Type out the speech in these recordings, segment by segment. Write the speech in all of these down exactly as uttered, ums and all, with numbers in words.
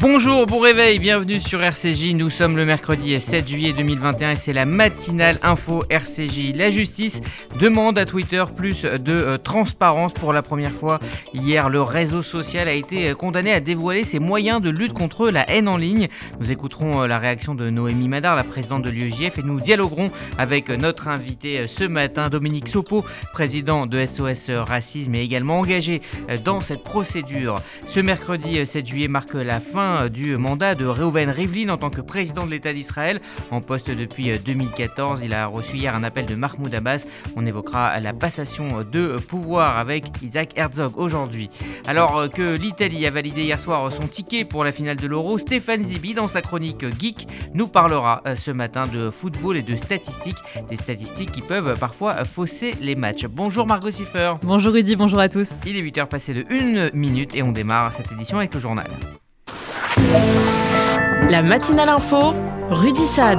Bonjour, bon réveil, bienvenue sur R C J. Nous sommes le mercredi sept juillet deux mille vingt et un et c'est la matinale info R C J. La justice demande à Twitter plus de euh, transparence pour la première fois. Hier, le réseau social a été condamné à dévoiler ses moyens de lutte contre la haine en ligne. Nous écouterons euh, la réaction de Noémie Madar, la présidente de l'U E J F, et nous dialoguerons avec notre invité ce matin, Dominique Sopo, président de S O S Racisme et également engagé dans cette procédure. Ce mercredi sept juillet marque la fin du mandat de Reuven Rivlin en tant que président de l'État d'Israël, en poste depuis deux mille quatorze. Il a reçu hier un appel de Mahmoud Abbas. On évoquera la passation de pouvoir avec Isaac Herzog aujourd'hui. Alors que l'Italie a validé hier soir son ticket pour la finale de l'Euro, Stéphane Zibi, dans sa chronique Geek, nous parlera ce matin de football et de statistiques, des statistiques qui peuvent parfois fausser les matchs. Bonjour Margot Siffer. Bonjour Rudy, bonjour à tous. Il est huit heures passées de une minute et on démarre cette édition avec le journal. La matinale info, Rudy Saad.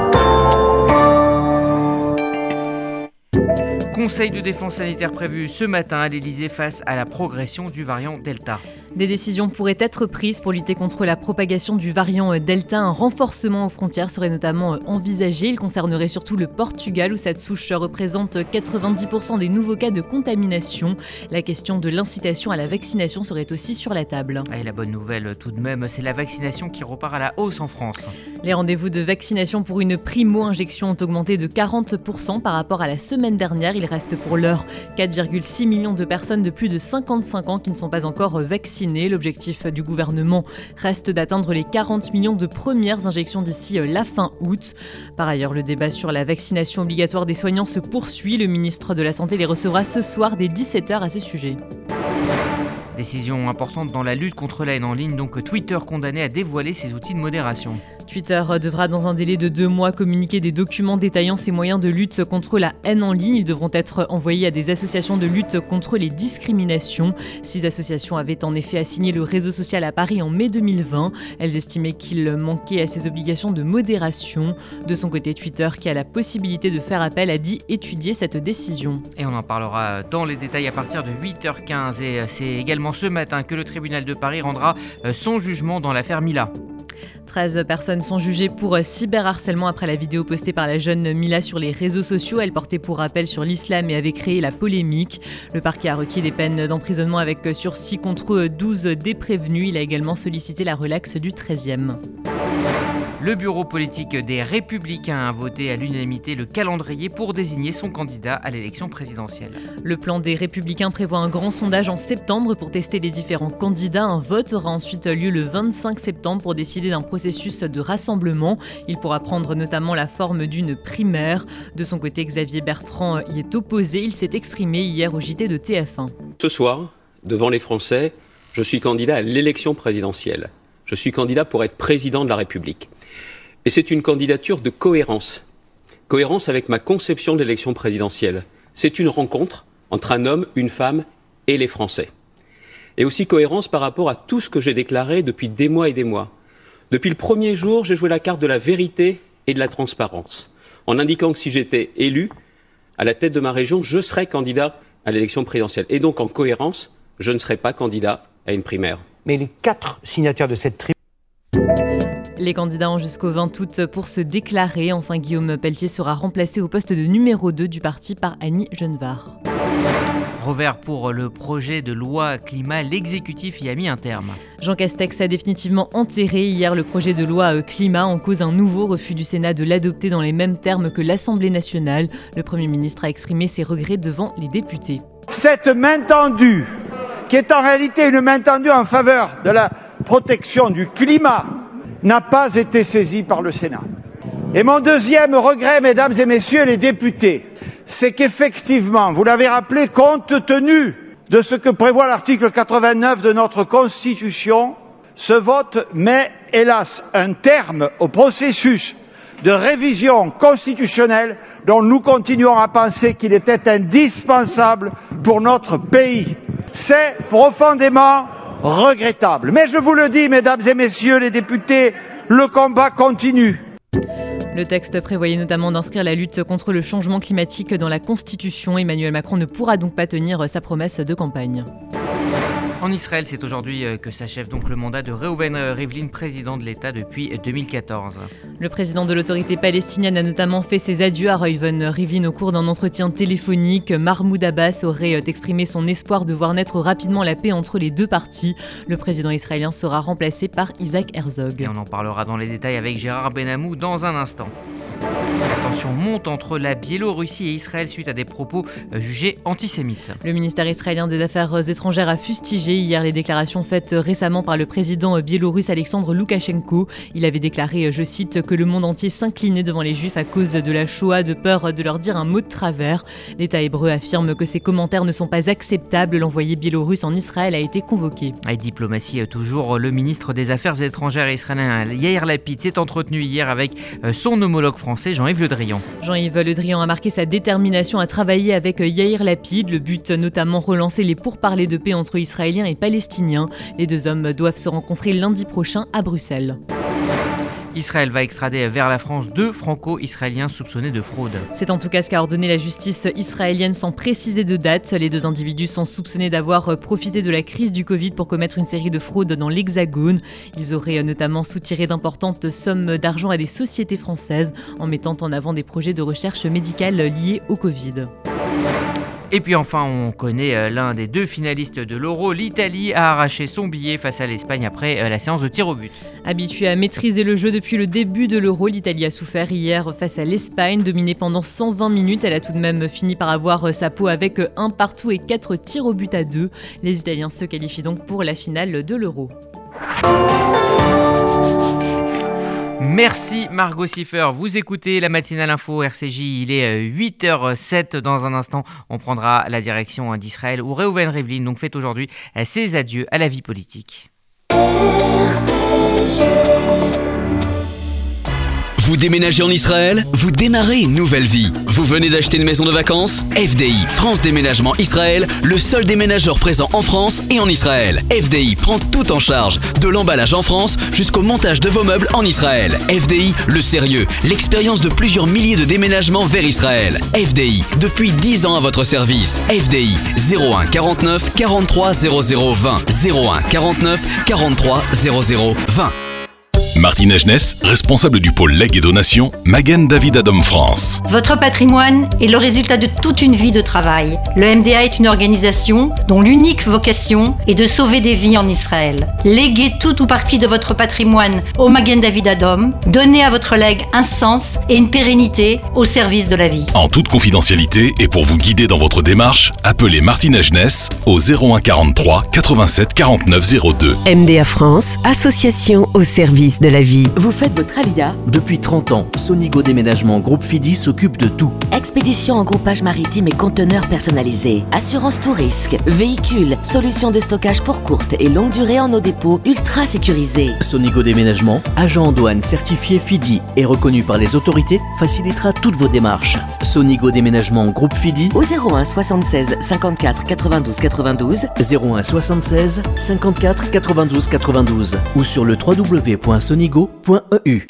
Conseil de défense sanitaire prévu ce matin à l'Elysée face à la progression du variant Delta. Des décisions pourraient être prises pour lutter contre la propagation du variant Delta. Un renforcement aux frontières serait notamment envisagé. Il concernerait surtout le Portugal où cette souche représente quatre-vingt-dix pour cent des nouveaux cas de contamination. La question de l'incitation à la vaccination serait aussi sur la table. Et la bonne nouvelle tout de même, c'est la vaccination qui repart à la hausse en France. Les rendez-vous de vaccination pour une primo-injection ont augmenté de quarante pour cent par rapport à la semaine dernière. Il reste pour l'heure quatre virgule six millions de personnes de plus de cinquante-cinq ans qui ne sont pas encore vaccinées. L'objectif du gouvernement reste d'atteindre les quarante millions de premières injections d'ici la fin août. Par ailleurs, le débat sur la vaccination obligatoire des soignants se poursuit. Le ministre de la Santé les recevra ce soir dès dix-sept heures à ce sujet. Décision importante dans la lutte contre la haine en ligne, donc Twitter condamné à dévoiler ses outils de modération. Twitter devra dans un délai de deux mois communiquer des documents détaillant ses moyens de lutte contre la haine en ligne. Ils devront être envoyés à des associations de lutte contre les discriminations. Six associations avaient en effet assigné le réseau social à Paris en mai deux mille vingt. Elles estimaient qu'il manquait à ses obligations de modération. De son côté, Twitter, qui a la possibilité de faire appel, a dit étudier cette décision. Et on en parlera dans les détails à partir de huit heures quinze. Et c'est également ce matin que le tribunal de Paris rendra son jugement dans l'affaire Mila. treize personnes sont jugées pour cyberharcèlement après la vidéo postée par la jeune Mila sur les réseaux sociaux. Elle portait pour rappel sur l'islam et avait créé la polémique. Le parquet a requis des peines d'emprisonnement avec sursis contre douze des prévenus. Il a également sollicité la relaxe du treizième. Le bureau politique des Républicains a voté à l'unanimité le calendrier pour désigner son candidat à l'élection présidentielle. Le plan des Républicains prévoit un grand sondage en septembre pour tester les différents candidats. Un vote aura ensuite lieu le vingt-cinq septembre pour décider d'un processus de rassemblement. Il pourra prendre notamment la forme d'une primaire. De son côté, Xavier Bertrand y est opposé. Il s'est exprimé hier au J T de T F un. Ce soir, devant les Français, je suis candidat à l'élection présidentielle. Je suis candidat pour être président de la République. Et c'est une candidature de cohérence. Cohérence avec ma conception de l'élection présidentielle. C'est une rencontre entre un homme, une femme et les Français. Et aussi cohérence par rapport à tout ce que j'ai déclaré depuis des mois et des mois. Depuis le premier jour, j'ai joué la carte de la vérité et de la transparence, en indiquant que si j'étais élu à la tête de ma région, je serais candidat à l'élection présidentielle. Et donc en cohérence, je ne serais pas candidat à une primaire. Mais les quatre signataires de cette tribune... Les candidats ont jusqu'au vingt août pour se déclarer. Enfin, Guillaume Pelletier sera remplacé au poste de numéro deux du parti par Annie Genevard. Revers pour le projet de loi climat, l'exécutif y a mis un terme. Jean Castex a définitivement enterré hier le projet de loi climat en cause un nouveau refus du Sénat de l'adopter dans les mêmes termes que l'Assemblée nationale. Le Premier ministre a exprimé ses regrets devant les députés. Cette main tendue, qui est en réalité une main tendue en faveur de la protection du climat, n'a pas été saisie par le Sénat. Et mon deuxième regret, mesdames et messieurs les députés, c'est qu'effectivement, vous l'avez rappelé, compte tenu de ce que prévoit l'article quatre-vingt-neuf de notre Constitution, ce vote met, hélas, un terme au processus de révision constitutionnelle dont nous continuons à penser qu'il était indispensable pour notre pays. C'est profondément regrettable. Mais je vous le dis, mesdames et messieurs les députés, le combat continue. Le texte prévoyait notamment d'inscrire la lutte contre le changement climatique dans la Constitution. Emmanuel Macron ne pourra donc pas tenir sa promesse de campagne. En Israël, c'est aujourd'hui que s'achève donc le mandat de Reuven Rivlin, président de l'État depuis deux mille quatorze. Le président de l'autorité palestinienne a notamment fait ses adieux à Reuven Rivlin au cours d'un entretien téléphonique. Mahmoud Abbas aurait exprimé son espoir de voir naître rapidement la paix entre les deux parties. Le président israélien sera remplacé par Isaac Herzog. Et on en parlera dans les détails avec Gérard Benamou dans un instant. La tension monte entre la Biélorussie et Israël suite à des propos jugés antisémites. Le ministère israélien des Affaires étrangères a fustigé hier les déclarations faites récemment par le président biélorusse Alexandre Loukachenko. Il avait déclaré, je cite, que le monde entier s'inclinait devant les Juifs à cause de la Shoah, de peur de leur dire un mot de travers. L'État hébreu affirme que ces commentaires ne sont pas acceptables. L'envoyé biélorusse en Israël a été convoqué. Et diplomatie toujours, le ministre des Affaires étrangères israélien Yair Lapid s'est entretenu hier avec son homologue français Jean-Yves Le Drian. Jean-Yves Le Drian a marqué sa détermination à travailler avec Yair Lapid. Le but notamment relancer les pourparlers de paix entre Israéliens et Palestiniens. Les deux hommes doivent se rencontrer lundi prochain à Bruxelles. Israël va extrader vers la France deux franco-israéliens soupçonnés de fraude. C'est en tout cas ce qu'a ordonné la justice israélienne sans préciser de date. Les deux individus sont soupçonnés d'avoir profité de la crise du Covid pour commettre une série de fraudes dans l'Hexagone. Ils auraient notamment soutiré d'importantes sommes d'argent à des sociétés françaises en mettant en avant des projets de recherche médicale liés au Covid. Et puis enfin, on connaît l'un des deux finalistes de l'Euro. L'Italie a arraché son billet face à l'Espagne après la séance de tir au but. Habituée à maîtriser le jeu depuis le début de l'Euro, l'Italie a souffert hier face à l'Espagne. Dominée pendant cent vingt minutes, elle a tout de même fini par avoir sa peau avec un partout et quatre tirs au but à deux. Les Italiens se qualifient donc pour la finale de l'Euro. Merci Margot Siffer, vous écoutez la matinale info R C J, il est huit heures zéro sept. Dans un instant, on prendra la direction d'Israël où Reuven Rivlin donc fait aujourd'hui ses adieux à la vie politique. R C J. Vous déménagez en Israël? Vous démarrez une nouvelle vie. Vous venez d'acheter une maison de vacances? F D I, France Déménagement Israël, le seul déménageur présent en France et en Israël. F D I prend tout en charge, de l'emballage en France jusqu'au montage de vos meubles en Israël. F D I, le sérieux, l'expérience de plusieurs milliers de déménagements vers Israël. F D I, depuis dix ans à votre service. F D I, zéro un quarante-neuf quarante-trois zéro zéro vingt. zéro un quarante-neuf quarante-trois zéro zéro vingt. Martine Agenès, responsable du pôle legs et donations, Magen David Adom France. Votre patrimoine est le résultat de toute une vie de travail. Le M D A est une organisation dont l'unique vocation est de sauver des vies en Israël. Léguez tout ou partie de votre patrimoine au Magen David Adom. Donnez à votre legs un sens et une pérennité au service de la vie. En toute confidentialité et pour vous guider dans votre démarche, appelez Martine Agenès au zéro un quarante-trois quatre-vingt-sept quarante-neuf zéro deux. M D A France, association au service de la vie. Vous faites votre alia? Depuis trente ans, Sonigo Déménagement Groupe Fidi s'occupe de tout. Expédition en groupage maritime et conteneurs personnalisés. Assurance tout risque. Véhicules. Solutions de stockage pour courte et longue durée en nos dépôts ultra sécurisés. Sonigo Déménagement, agent en douane certifié Fidi et reconnu par les autorités, facilitera toutes vos démarches. Sonigo Déménagement Groupe Fidi au zéro un soixante-seize cinquante-quatre quatre-vingt-douze quatre-vingt-douze. zéro un soixante-seize cinquante-quatre quatre-vingt-douze quatre-vingt-douze ou sur le w w w point sonigo point e u.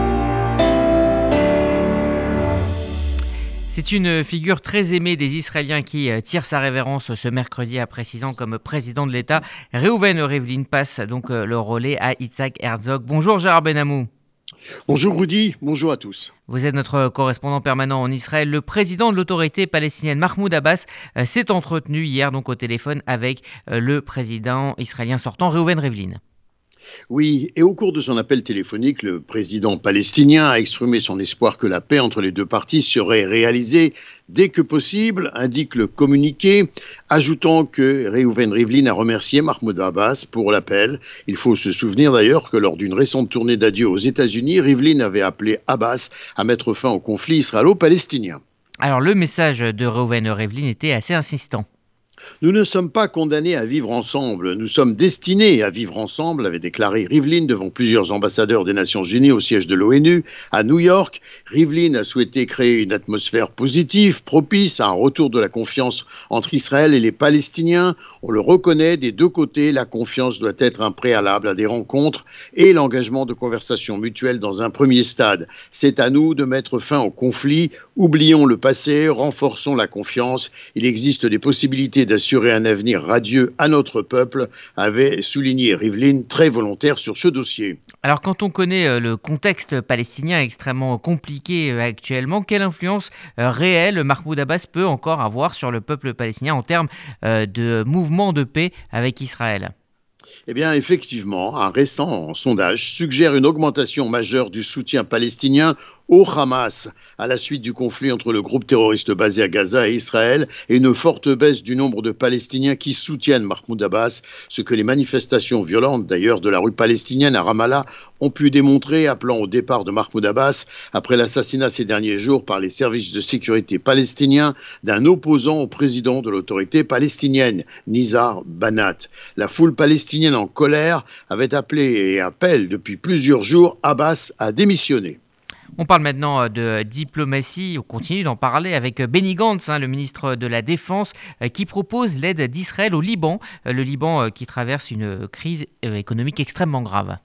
C'est une figure très aimée des Israéliens qui tire sa révérence ce mercredi à précisant comme président de l'État. Reuven Rivlin passe donc le relais à Isaac Herzog. Bonjour Gérard Benamou. Bonjour Rudy, bonjour à tous. Vous êtes notre correspondant permanent en Israël. Le président de l'autorité palestinienne Mahmoud Abbas euh, s'est entretenu hier donc au téléphone avec euh, le président israélien sortant Reuven Rivlin. Oui, et au cours de son appel téléphonique, le président palestinien a exprimé son espoir que la paix entre les deux parties serait réalisée dès que possible, indique le communiqué, ajoutant que Reuven Rivlin a remercié Mahmoud Abbas pour l'appel. Il faut se souvenir d'ailleurs que lors d'une récente tournée d'adieu aux États-Unis, Rivlin avait appelé Abbas à mettre fin au conflit israélo-palestinien. Alors le message de Reuven Rivlin était assez insistant. Nous ne sommes pas condamnés à vivre ensemble, nous sommes destinés à vivre ensemble, avait déclaré Rivlin devant plusieurs ambassadeurs des Nations Unies au siège de l'ONU à New York. Rivlin a souhaité créer une atmosphère positive, propice à un retour de la confiance entre Israël et les Palestiniens. On le reconnaît, des deux côtés, la confiance doit être un préalable à des rencontres et l'engagement de conversations mutuelles dans un premier stade. C'est à nous de mettre fin au conflit, oublions le passé, renforçons la confiance. Il existe des possibilités d'assurer un avenir radieux à notre peuple, avait souligné Rivlin, très volontaire sur ce dossier. Alors quand on connaît le contexte palestinien extrêmement compliqué actuellement, quelle influence réelle Mahmoud Abbas peut encore avoir sur le peuple palestinien en termes de mouvement de paix avec Israël ? Eh bien, effectivement, un récent sondage suggère une augmentation majeure du soutien palestinien au Hamas à la suite du conflit entre le groupe terroriste basé à Gaza et Israël et une forte baisse du nombre de Palestiniens qui soutiennent Mahmoud Abbas, ce que les manifestations violentes d'ailleurs de la rue palestinienne à Ramallah ont pu démontrer, appelant au départ de Mahmoud Abbas après l'assassinat ces derniers jours par les services de sécurité palestiniens d'un opposant au président de l'autorité palestinienne, Nizar Banat. La foule palestinienne en colère avait appelé et appelle depuis plusieurs jours Abbas à démissionner. On parle maintenant de diplomatie, on continue d'en parler avec Benny Gantz, hein, le ministre de la Défense, euh, qui propose l'aide d'Israël au Liban, euh, le Liban euh, qui traverse une crise euh, économique extrêmement grave.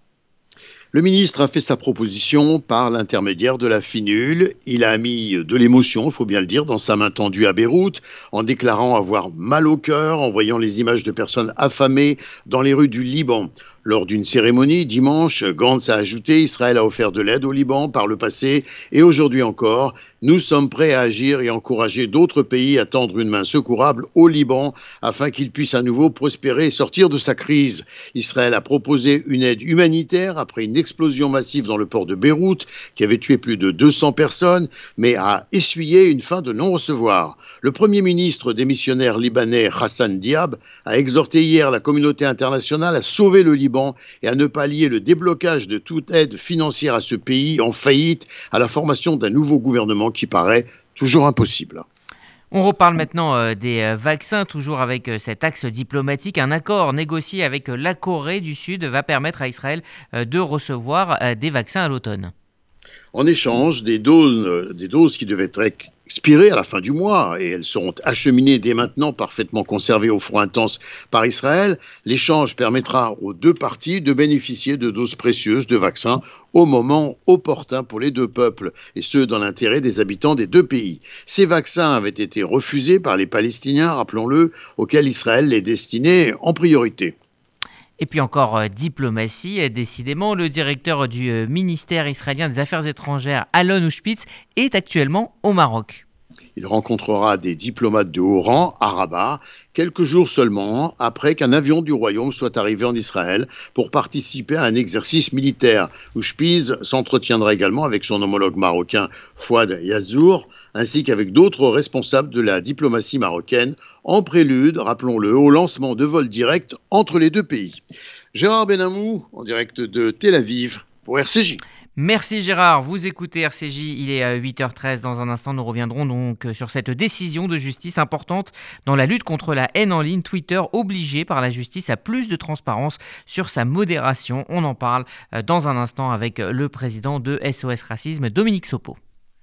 Le ministre a fait sa proposition par l'intermédiaire de la FINUL. Il a mis de l'émotion, il faut bien le dire, dans sa main tendue à Beyrouth, en déclarant avoir mal au cœur, en voyant les images de personnes affamées dans les rues du Liban. Lors d'une cérémonie, dimanche, Gantz a ajouté « Israël a offert de l'aide au Liban par le passé et aujourd'hui encore. Nous sommes prêts à agir et encourager d'autres pays à tendre une main secourable au Liban afin qu'il puisse à nouveau prospérer et sortir de sa crise. » Israël a proposé une aide humanitaire après une explosion massive dans le port de Beyrouth qui avait tué plus de deux cents personnes, mais a essuyé une fin de non-recevoir. Le Premier ministre démissionnaire libanais Hassan Diab a exhorté hier la communauté internationale à sauver le Liban et à ne pas lier le déblocage de toute aide financière à ce pays en faillite à la formation d'un nouveau gouvernement qui paraît toujours impossible. On reparle maintenant euh, des euh, vaccins, toujours avec euh, cet axe diplomatique. Un accord négocié avec euh, la Corée du Sud va permettre à Israël euh, de recevoir euh, des vaccins à l'automne. En échange des doses, euh, des doses qui devaient être expirées à la fin du mois, et elles seront acheminées dès maintenant, parfaitement conservées au froid intense par Israël, l'échange permettra aux deux parties de bénéficier de doses précieuses de vaccins au moment opportun pour les deux peuples, et ce, dans l'intérêt des habitants des deux pays. Ces vaccins avaient été refusés par les Palestiniens, rappelons-le, auxquels Israël les destinait en priorité. Et puis encore euh, diplomatie, euh, décidément, le directeur du euh, ministère israélien des Affaires étrangères, Alon Ushpitz, est actuellement au Maroc. Il rencontrera des diplomates de haut rang à Rabat, quelques jours seulement après qu'un avion du Royaume soit arrivé en Israël pour participer à un exercice militaire. Ushpitz s'entretiendra également avec son homologue marocain Fouad Yazzour, ainsi qu'avec d'autres responsables de la diplomatie marocaine, en prélude, rappelons-le, au lancement de vols directs entre les deux pays. Gérard Benamou, en direct de Tel Aviv, pour R C J. Merci Gérard, vous écoutez R C J, il est à huit heures treize. Dans un instant, nous reviendrons donc sur cette décision de justice importante dans la lutte contre la haine en ligne. Twitter obligé par la justice à plus de transparence sur sa modération. On en parle dans un instant avec le président de S O S Racisme, Dominique Sopo.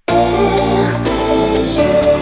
R C J.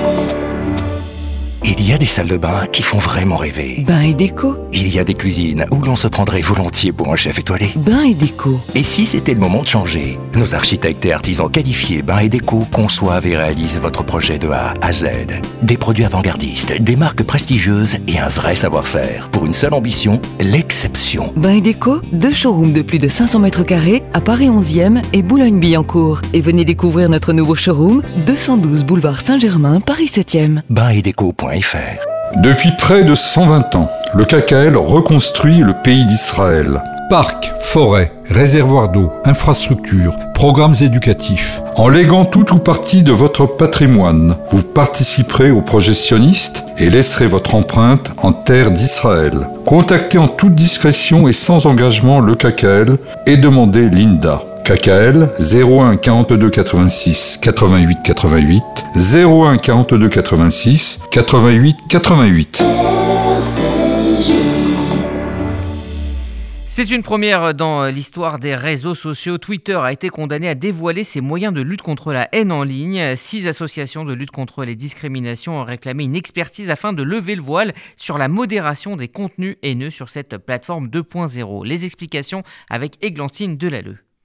Il y a des salles de bain qui font vraiment rêver. Bain et déco. Il y a des cuisines où l'on se prendrait volontiers pour un chef étoilé. Bain et déco. Et si c'était le moment de changer? Nos architectes et artisans qualifiés Bain et déco conçoivent et réalisent votre projet de A à Z. Des produits avant-gardistes, des marques prestigieuses et un vrai savoir-faire. Pour une seule ambition, l'exception. Bain et déco, deux showrooms de plus de cinq cents mètres carrés à Paris onzième et Boulogne-Billancourt. Et venez découvrir notre nouveau showroom, deux cent douze boulevard Saint-Germain, Paris septième. bain et déco point f r. Depuis près de cent vingt ans, le K K L reconstruit le pays d'Israël. Parcs, forêts, réservoirs d'eau, infrastructures, programmes éducatifs. En léguant tout ou partie de votre patrimoine, vous participerez au projet sioniste et laisserez votre empreinte en terre d'Israël. Contactez en toute discrétion et sans engagement le K K L et demandez l'I N D A. K K L zéro un quarante-deux quatre-vingt-six quatre-vingt-huit quatre-vingt-huit zéro un quarante-deux quatre-vingt-six quatre-vingt-huit quatre-vingt-huit. C'est une première dans l'histoire des réseaux sociaux. Twitter a été condamné à dévoiler ses moyens de lutte contre la haine en ligne. Six associations de lutte contre les discriminations ont réclamé une expertise afin de lever le voile sur la modération des contenus haineux sur cette plateforme deux point zéro. Les explications avec Églantine Delalleux.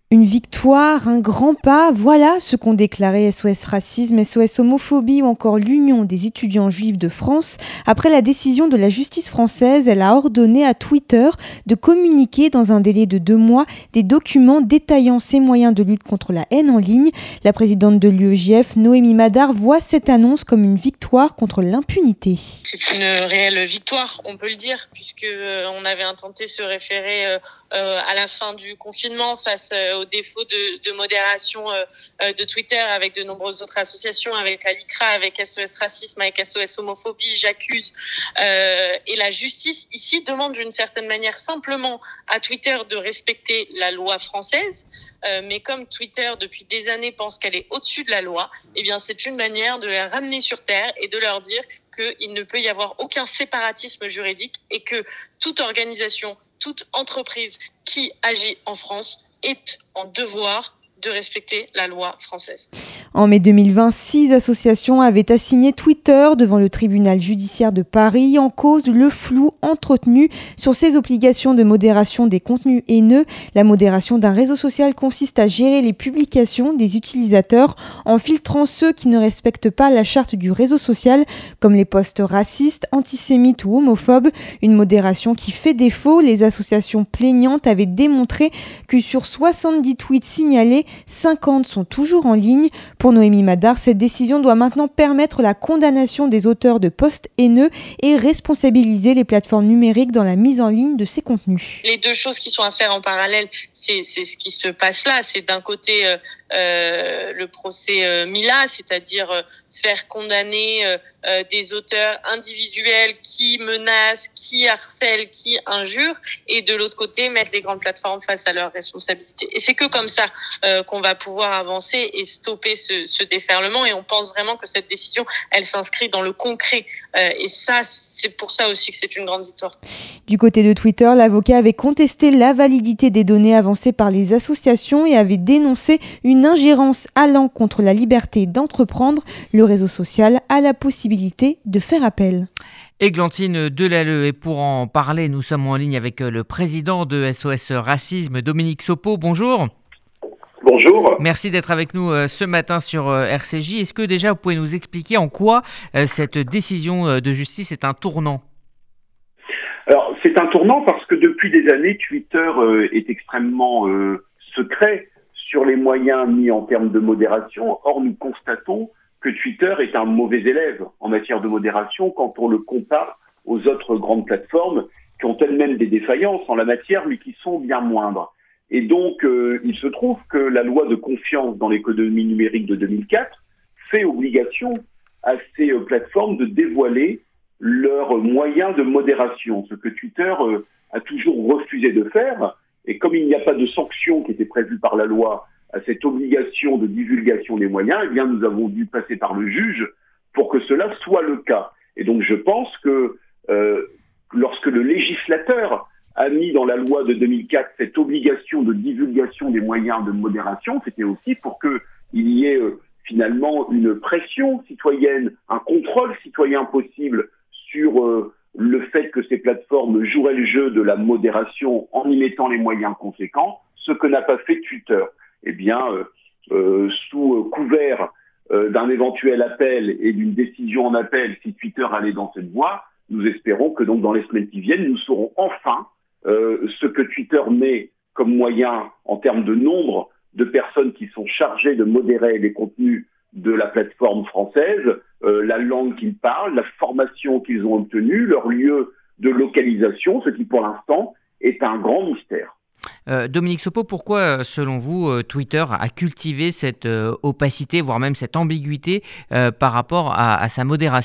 Une victoire, un grand pas, voilà ce qu'ont déclaré S O S Racisme, S O S Homophobie ou encore l'Union des étudiants juifs de France. Après la décision de la justice française, elle a ordonné à Twitter de communiquer dans un délai de deux mois des documents détaillant ses moyens de lutte contre la haine en ligne. La présidente de l'U E J F, Noémie Madar, voit cette annonce comme une victoire contre l'impunité. C'est une réelle victoire, on peut le dire, puisque euh, on avait intenté se référer euh, euh, à la fin du confinement face euh, au défaut de, de modération euh, de Twitter avec de nombreuses autres associations, avec la LICRA, avec S O S Racisme, avec S O S Homophobie, J'accuse. Euh, et la justice ici demande d'une certaine manière simplement à Twitter de respecter la loi française. Euh, mais comme Twitter depuis des années pense qu'elle est au-dessus de la loi, eh bien c'est une manière de les ramener sur terre et de leur dire qu'il ne peut y avoir aucun séparatisme juridique et que toute organisation, toute entreprise qui agit en France est en devoir de respecter la loi française. En mai deux mille vingt, six associations avaient assigné Twitter devant le tribunal judiciaire de Paris en cause le flou entretenu sur ses obligations de modération des contenus haineux. La modération d'un réseau social consiste à gérer les publications des utilisateurs en filtrant ceux qui ne respectent pas la charte du réseau social, comme les posts racistes, antisémites ou homophobes. Une modération qui fait défaut. Les associations plaignantes avaient démontré que sur soixante-dix tweets signalés, cinquante sont toujours en ligne. Pour Noémie Madar, cette décision doit maintenant permettre la condamnation des auteurs de posts haineux et responsabiliser les plateformes numériques dans la mise en ligne de ces contenus. Les deux choses qui sont à faire en parallèle, c'est, c'est ce qui se passe là. C'est d'un côté euh, euh, le procès euh, Mila, c'est-à-dire euh, faire condamner euh, des auteurs individuels qui menacent, qui harcèlent, qui injurent, et de l'autre côté mettre les grandes plateformes face à leurs responsabilités. Et c'est que comme ça euh, qu'on va pouvoir avancer et stopper ce, ce déferlement. Et on pense vraiment que cette décision, elle s'inscrit dans le concret. Euh, et ça, c'est pour ça aussi que c'est une grande victoire. Du côté de Twitter, l'avocat avait contesté la validité des données avancées par les associations et avait dénoncé une ingérence allant contre la liberté d'entreprendre. Le réseau social a la possibilité de faire appel. Églantine Delalleux, et pour en parler, nous sommes en ligne avec le président de S O S Racisme, Dominique Sopo. Bonjour. Bonjour. Merci d'être avec nous euh, ce matin sur euh, R C J. Est-ce que déjà vous pouvez nous expliquer en quoi euh, cette décision euh, de justice est un tournant ? Alors, c'est un tournant parce que depuis des années, Twitter euh, est extrêmement euh, secret sur les moyens mis en termes de modération. Or, nous constatons que Twitter est un mauvais élève en matière de modération quand on le compare aux autres grandes plateformes qui ont elles-mêmes des défaillances en la matière, mais qui sont bien moindres. Et donc, euh, il se trouve que la loi de confiance dans l'économie numérique de deux mille quatre fait obligation à ces euh, plateformes de dévoiler leurs moyens de modération, ce que Twitter euh, a toujours refusé de faire. Et comme il n'y a pas de sanction qui était prévue par la loi à cette obligation de divulgation des moyens, eh bien, nous avons dû passer par le juge pour que cela soit le cas. Et donc, je pense que euh, lorsque le législateur a mis dans la loi de deux mille quatre cette obligation de divulgation des moyens de modération, c'était aussi pour qu'il y ait euh, finalement une pression citoyenne, un contrôle citoyen possible sur euh, le fait que ces plateformes joueraient le jeu de la modération en y mettant les moyens conséquents, ce que n'a pas fait Twitter. Eh bien, euh, euh, sous euh, couvert euh, d'un éventuel appel et d'une décision en appel, si Twitter allait dans cette voie, nous espérons que donc dans les semaines qui viennent, nous saurons enfin Euh, ce que Twitter met comme moyen en termes de nombre de personnes qui sont chargées de modérer les contenus de la plateforme française, euh, la langue qu'ils parlent, la formation qu'ils ont obtenue, leur lieu de localisation, ce qui pour l'instant est un grand mystère. Euh, Dominique Sopo, pourquoi, selon vous, euh, Twitter a cultivé cette euh, opacité, voire même cette ambiguïté euh, par rapport à, à sa modération ?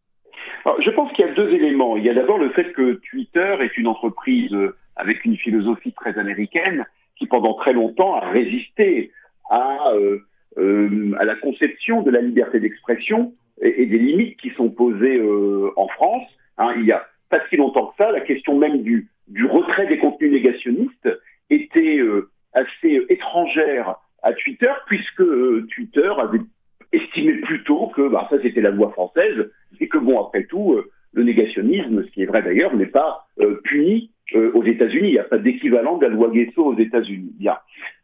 Alors, je pense qu'il y a deux éléments. Il y a d'abord le fait que Twitter est une entreprise avec une philosophie très américaine qui, pendant très longtemps, a résisté à, euh, euh, à la conception de la liberté d'expression et, et des limites qui sont posées euh, en France. Hein, il y a pas si longtemps que ça, la question même du, du retrait des contenus négationnistes était euh, assez étrangère à Twitter, puisque euh, Twitter avait estimé plutôt que bah, ça c'était la loi française et que bon, après tout, euh, le négationnisme, ce qui est vrai d'ailleurs, n'est pas euh, puni euh, aux États-Unis. Il n'y a pas d'équivalent de la loi Guesso aux États-Unis. Bien.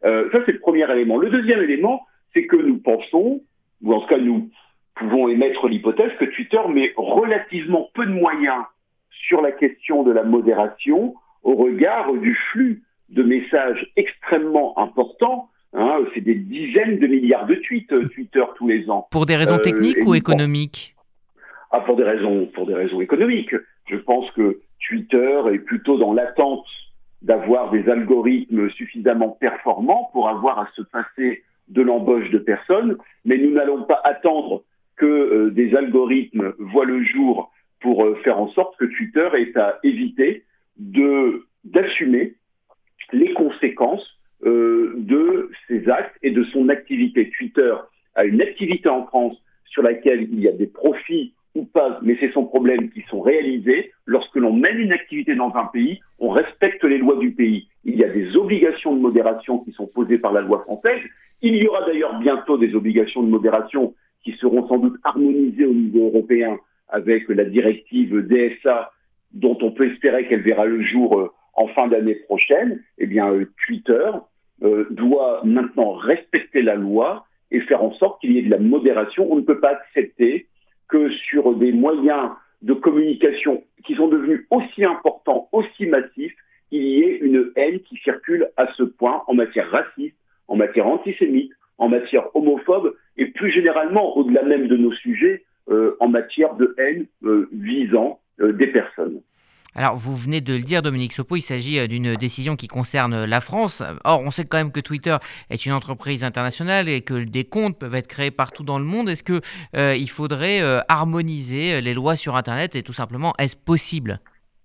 Euh, ça, c'est le premier élément. Le deuxième élément, c'est que nous pensons, ou en tout cas nous pouvons émettre l'hypothèse que Twitter met relativement peu de moyens sur la question de la modération au regard du flux de messages extrêmement importants. Hein, c'est des dizaines de milliards de tweets, Twitter, tous les ans. Pour des raisons techniques euh, ou économiques ? Ah, pour des raisons, pour des raisons économiques. Je pense que Twitter est plutôt dans l'attente d'avoir des algorithmes suffisamment performants pour avoir à se passer de l'embauche de personnes, mais nous n'allons pas attendre que euh, des algorithmes voient le jour pour euh, faire en sorte que Twitter ait à éviter de, d'assumer les conséquences euh, de ses actes et de son activité. Twitter a une activité en France sur laquelle il y a des profits ou pas, mais c'est son problème, qui sont réalisés. Lorsque l'on mène une activité dans un pays, on respecte les lois du pays. Il y a des obligations de modération qui sont posées par la loi française. Il y aura d'ailleurs bientôt des obligations de modération qui seront sans doute harmonisées au niveau européen avec la directive D S A, dont on peut espérer qu'elle verra le jour euh, en fin d'année prochaine. Eh bien, euh, Twitter euh, doit maintenant respecter la loi et faire en sorte qu'il y ait de la modération. On ne peut pas accepter que sur des moyens de communication qui sont devenus aussi importants, aussi massifs, il y ait une haine qui circule à ce point en matière raciste, en matière antisémite, en matière homophobe et plus généralement, au-delà même de nos sujets, euh, en matière de haine euh, visant euh, des personnes. Alors, vous venez de le dire, Dominique Sopo, il s'agit d'une décision qui concerne la France. Or, on sait quand même que Twitter est une entreprise internationale et que des comptes peuvent être créés partout dans le monde. Est-ce qu'il euh, faudrait euh, harmoniser les lois sur Internet et tout simplement, est-ce possible ?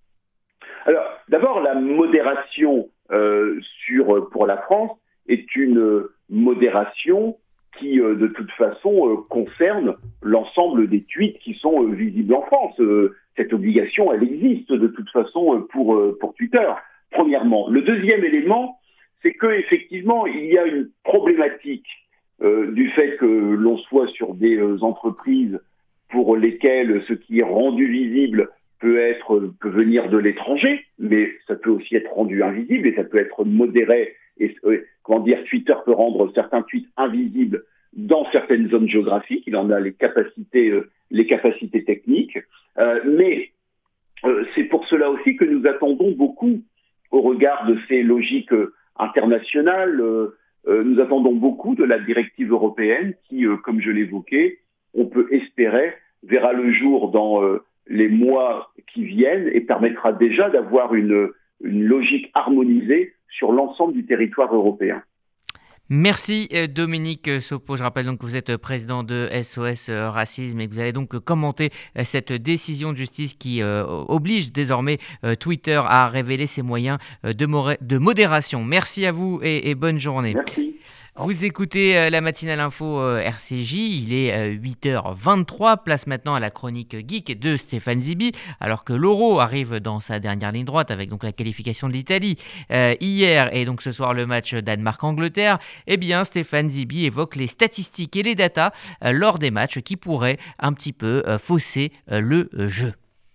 Alors, d'abord, la modération euh, sur, pour la France est une modération qui, euh, de toute façon, euh, concerne l'ensemble des tweets qui sont euh, visibles en France. Euh, cette obligation, elle existe de toute façon euh, pour, euh, pour Twitter, premièrement. Le deuxième élément, c'est qu'effectivement, il y a une problématique euh, du fait que l'on soit sur des euh, entreprises pour lesquelles ce qui est rendu visible peut être peut venir de l'étranger, mais ça peut aussi être rendu invisible et ça peut être modéré. Et euh, comment dire, Twitter peut rendre certains tweets invisibles dans certaines zones géographiques. Il en a les capacités, euh, les capacités techniques. Euh, mais euh, c'est pour cela aussi que nous attendons beaucoup, au regard de ces logiques euh, internationales, euh, euh, nous attendons beaucoup de la directive européenne qui, euh, comme je l'évoquais, on peut espérer verra le jour dans euh, les mois qui viennent et permettra déjà d'avoir une, une logique harmonisée sur l'ensemble du territoire européen. Merci Dominique Sopo. Je rappelle donc que vous êtes président de S O S Racisme et que vous allez donc commenter cette décision de justice qui euh, oblige désormais euh, Twitter à révéler ses moyens de, moré- de modération. Merci à vous et, et bonne journée. Merci. Vous écoutez la matinale info R C J, il est huit heures vingt-trois, place maintenant à la chronique geek de Stéphane Zibi, alors que l'Euro arrive dans sa dernière ligne droite avec donc la qualification de l'Italie euh, hier et donc ce soir le match Danemark-Angleterre. Eh bien Stéphane Zibi évoque les statistiques et les datas euh, lors des matchs qui pourraient un petit peu euh, fausser euh, le euh, jeu.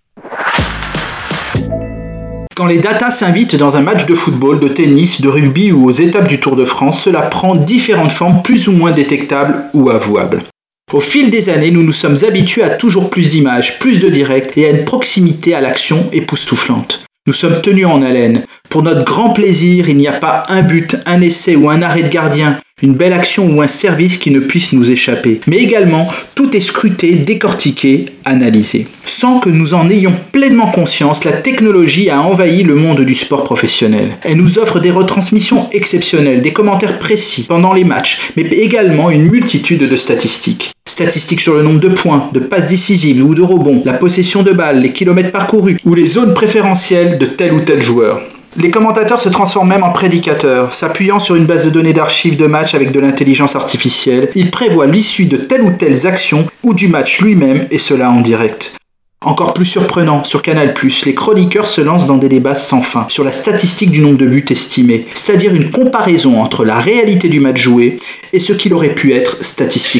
Quand les datas s'invitent dans un match de football, de tennis, de rugby ou aux étapes du Tour de France, cela prend différentes formes plus ou moins détectables ou avouables. Au fil des années, nous nous sommes habitués à toujours plus d'images, plus de directs et à une proximité à l'action époustouflante. Nous sommes tenus en haleine. Pour notre grand plaisir, il n'y a pas un but, un essai ou un arrêt de gardien, une belle action ou un service qui ne puisse nous échapper. Mais également, tout est scruté, décortiqué, analysé. Sans que nous en ayons pleinement conscience, la technologie a envahi le monde du sport professionnel. Elle nous offre des retransmissions exceptionnelles, des commentaires précis pendant les matchs, mais également une multitude de statistiques. Statistiques sur le nombre de points, de passes décisives ou de rebonds, la possession de balles, les kilomètres parcourus ou les zones préférentielles de tel ou tel joueur. Les commentateurs se transforment même en prédicateurs, s'appuyant sur une base de données d'archives de matchs avec de l'intelligence artificielle. Ils prévoient l'issue de telle ou telle action ou du match lui-même, et cela en direct. Encore plus surprenant, sur Canal plus, les chroniqueurs se lancent dans des débats sans fin sur la statistique du nombre de buts estimés, c'est-à-dire une comparaison entre la réalité du match joué et ce qu'il aurait pu être statistiquement.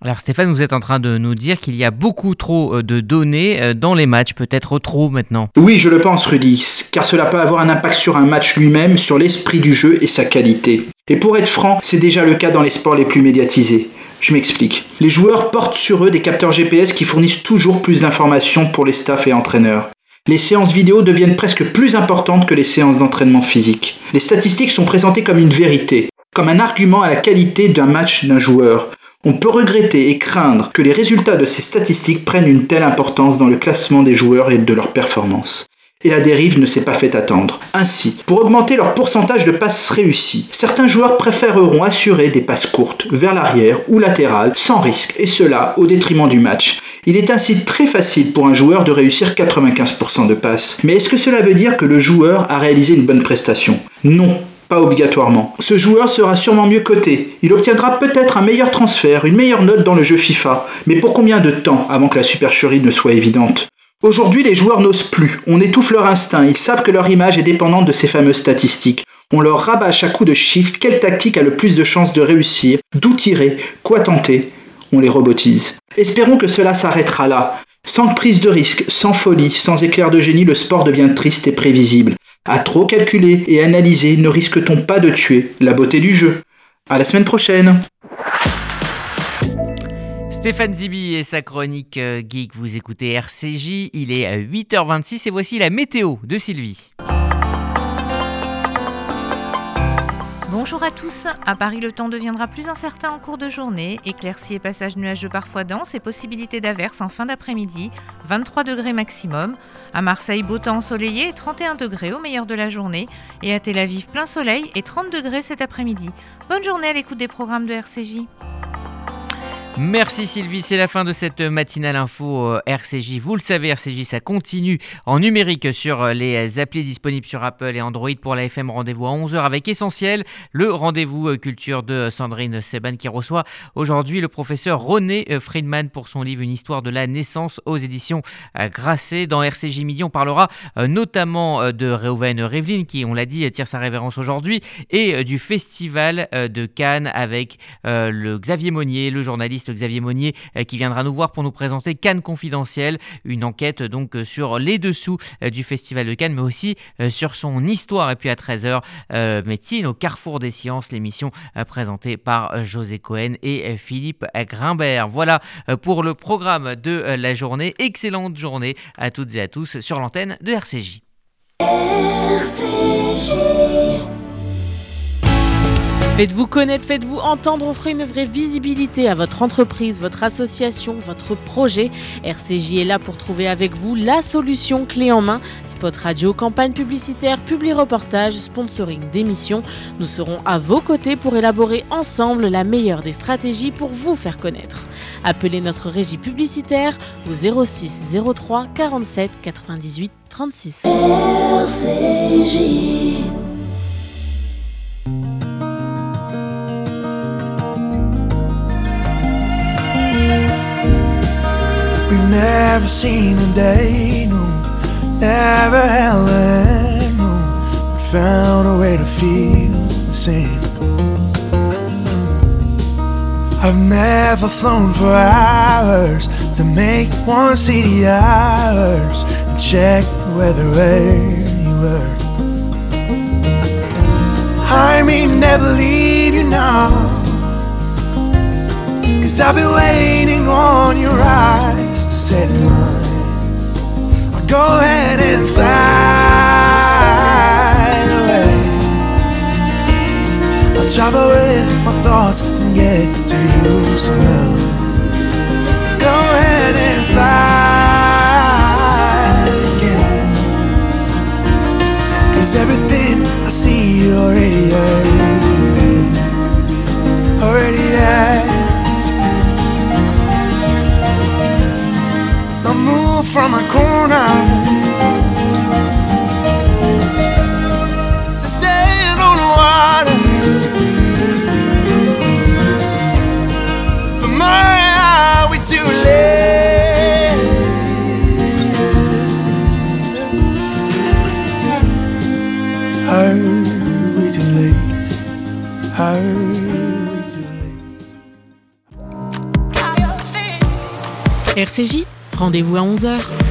Alors Stéphane, vous êtes en train de nous dire qu'il y a beaucoup trop de données dans les matchs, peut-être trop maintenant. Oui, je le pense Rudy, car cela peut avoir un impact sur un match lui-même, sur l'esprit du jeu et sa qualité. Et pour être franc, c'est déjà le cas dans les sports les plus médiatisés. Je m'explique. Les joueurs portent sur eux des capteurs G P S qui fournissent toujours plus d'informations pour les staffs et entraîneurs. Les séances vidéo deviennent presque plus importantes que les séances d'entraînement physique. Les statistiques sont présentées comme une vérité, comme un argument à la qualité d'un match d'un joueur. On peut regretter et craindre que les résultats de ces statistiques prennent une telle importance dans le classement des joueurs et de leurs performances. Et la dérive ne s'est pas fait attendre. Ainsi, pour augmenter leur pourcentage de passes réussies, certains joueurs préféreront assurer des passes courtes, vers l'arrière ou latérales, sans risque, et cela au détriment du match. Il est ainsi très facile pour un joueur de réussir quatre-vingt-quinze pour cent de passes. Mais est-ce que cela veut dire que le joueur a réalisé une bonne prestation ? Non. Pas obligatoirement. Ce joueur sera sûrement mieux coté. Il obtiendra peut-être un meilleur transfert, une meilleure note dans le jeu FIFA. Mais pour combien de temps avant que la supercherie ne soit évidente ? Aujourd'hui, les joueurs n'osent plus. On étouffe leur instinct. Ils savent que leur image est dépendante de ces fameuses statistiques. On leur rabâche à coups de chiffres quelle tactique a le plus de chances de réussir, d'où tirer, quoi tenter. On les robotise. Espérons que cela s'arrêtera là. Sans prise de risque, sans folie, sans éclair de génie, le sport devient triste et prévisible. À trop calculer et analyser, ne risque-t-on pas de tuer la beauté du jeu ? À la semaine prochaine. Stéphane Zibi et sa chronique Geek, vous écoutez R C J, il est à huit heures vingt-six et voici la météo de Sylvie. Bonjour à tous. À Paris, le temps deviendra plus incertain en cours de journée. Éclaircies et passages nuageux parfois denses et possibilité d'averses en fin d'après-midi. vingt-trois degrés maximum. À Marseille, beau temps ensoleillé et trente et un degrés au meilleur de la journée. Et à Tel Aviv, plein soleil et trente degrés cet après-midi. Bonne journée à l'écoute des programmes de R C J. Merci Sylvie, c'est la fin de cette matinale info R C J. Vous le savez, R C J, ça continue en numérique sur les applis disponibles sur Apple et Android. Pour la F M, rendez-vous à onze heures avec Essentiel, le rendez-vous culture de Sandrine Seban qui reçoit aujourd'hui le professeur René Friedman pour son livre Une histoire de la naissance aux éditions Grasset. Dans R C J Midi, on parlera notamment de Reuven Rivlin qui, on l'a dit, tire sa révérence aujourd'hui et du festival de Cannes avec le Xavier Monnier, le journaliste Xavier Monnier qui viendra nous voir pour nous présenter Cannes Confidentiel, une enquête donc sur les dessous du Festival de Cannes mais aussi sur son histoire. Et puis à treize heures, euh, médecine au carrefour des sciences, l'émission présentée par José Cohen et Philippe Grimbert. Voilà pour le programme de la journée. Excellente journée à toutes et à tous sur l'antenne de R C J. R C J. Faites-vous connaître, faites-vous entendre, offrez une vraie visibilité à votre entreprise, votre association, votre projet. R C J est là pour trouver avec vous la solution clé en main. Spot radio, campagne publicitaire, publi-reportage, sponsoring d'émissions. Nous serons à vos côtés pour élaborer ensemble la meilleure des stratégies pour vous faire connaître. Appelez notre régie publicitaire au zéro six zéro trois quarante-sept quatre-vingt-dix-huit trente-six. R C J. We've never seen a day, no, never held a hand, no, but found a way to feel the same. I've never flown for hours to make one see the hours and check the weather where you were. I may never leave you now, 'cause I've been waiting on your eyes to set mine. I'll go ahead and fly away. I'll travel with my thoughts and get to you somehow. Go ahead and fly again, 'cause everything I see you already heard, already had. I move from a corner to stand on the water, but my, are we too late? Are we too late? Are we too late? R C J, rendez-vous à onze heures.